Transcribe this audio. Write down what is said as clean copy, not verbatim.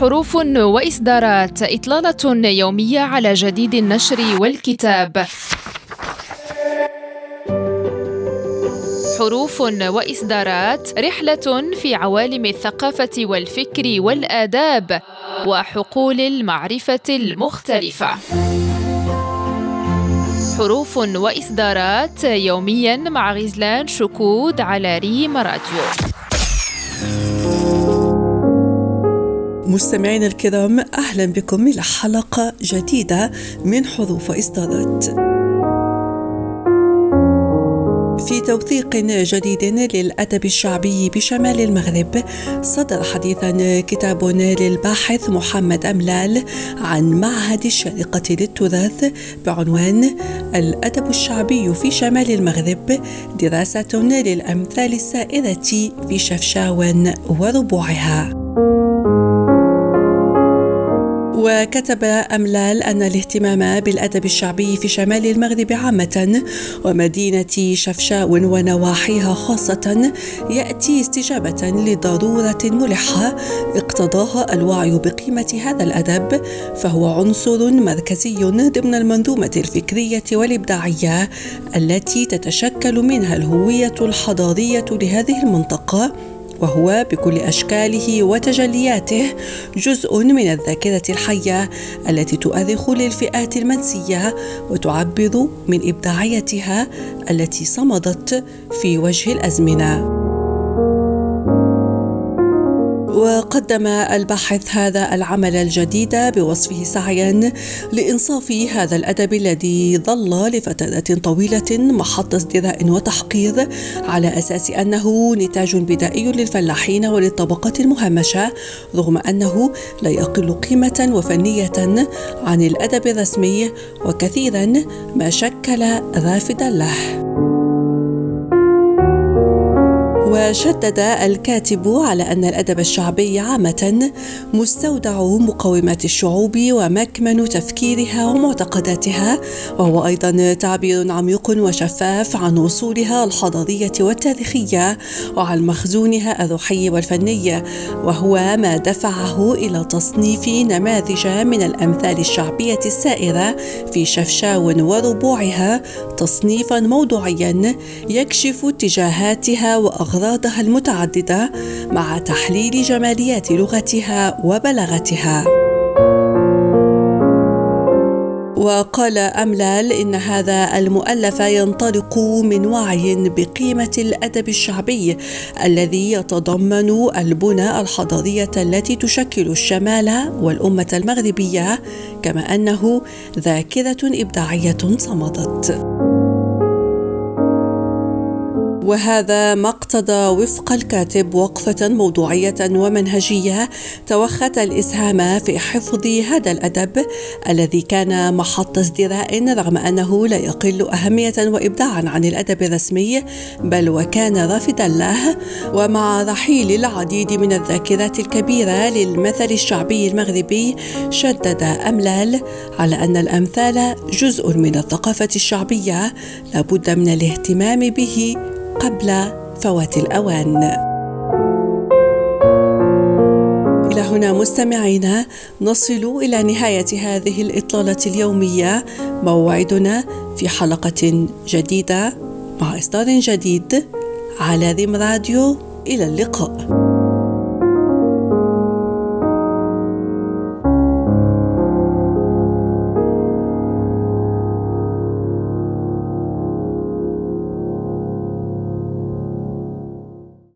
حروف وإصدارات، إطلالة يومية على جديد النشر والكتاب. حروف وإصدارات، رحلة في عوالم الثقافة والفكر والآداب وحقول المعرفة المختلفة. حروف وإصدارات يومياً مع غزلان شكود على ريم راديو. مستمعينا الكرام، أهلا بكم إلى حلقة جديدة من حروف وإصدارات. في توثيق جديد للأدب الشعبي بشمال المغرب، صدر حديثا كتاب للباحث محمد أملال عن معهد الشارقة للتراث بعنوان الأدب الشعبي في شمال المغرب، دراسة للأمثال السائرة في شفشاون وربوعها. وكتب أملال أن الاهتمام بالأدب الشعبي في شمال المغرب عامة ومدينة شفشاون ونواحيها خاصة يأتي استجابة لضرورة ملحة اقتضاها الوعي بقيمة هذا الأدب، فهو عنصر مركزي ضمن المنظومة الفكرية والإبداعية التي تتشكل منها الهوية الحضارية لهذه المنطقة، وهو بكل أشكاله وتجلياته جزء من الذاكرة الحية التي تؤرخ للفئات المنسية وتعبر من إبداعيتها التي صمدت في وجه الأزمنة. وقدم الباحث هذا العمل الجديد بوصفه سعيا لإنصاف هذا الأدب الذي ظل لفترات طويلة محط ازدراء وتحقير، على أساس أنه نتاج بدائي للفلاحين وللطبقات المهمشة، رغم أنه لا يقل قيمة وفنية عن الأدب الرسمي وكثيرا ما شكل رافدا له. وشدد الكاتب على أن الأدب الشعبي عامة مستودع مقومات الشعوب ومكمن تفكيرها ومعتقداتها، وهو أيضا تعبير عميق وشفاف عن أصولها الحضارية والتاريخية وعن مخزونها الروحي والفني، وهو ما دفعه إلى تصنيف نماذج من الأمثال الشعبية السائرة في شفشاون وربوعها تصنيفا موضوعيا يكشف اتجاهاتها وأغراضها المتعددة مع تحليل جماليات لغتها وبلاغتها. وقال أملال إن هذا المؤلف ينطلق من وعي بقيمة الأدب الشعبي الذي يتضمن البنى الحضارية التي تشكل الشمال والأمة المغربية، كما أنه ذاكرة إبداعية صمدت. وهذا ما اقتضى وفق الكاتب وقفة موضوعية ومنهجية توخت الإسهام في حفظ هذا الأدب الذي كان محط ازدراء، رغم أنه لا يقل أهمية وإبداعا عن الأدب الرسمي، بل وكان رافدا له. ومع رحيل العديد من الذاكرات الكبيرة للمثل الشعبي المغربي، شدد أملال على أن الأمثال جزء من الثقافة الشعبية لابد من الاهتمام به قبل فوات الأوان. إلى هنا مستمعينا نصل إلى نهاية هذه الإطلالة اليومية، موعدنا في حلقة جديدة مع إصدار جديد على ريم راديو. إلى اللقاء.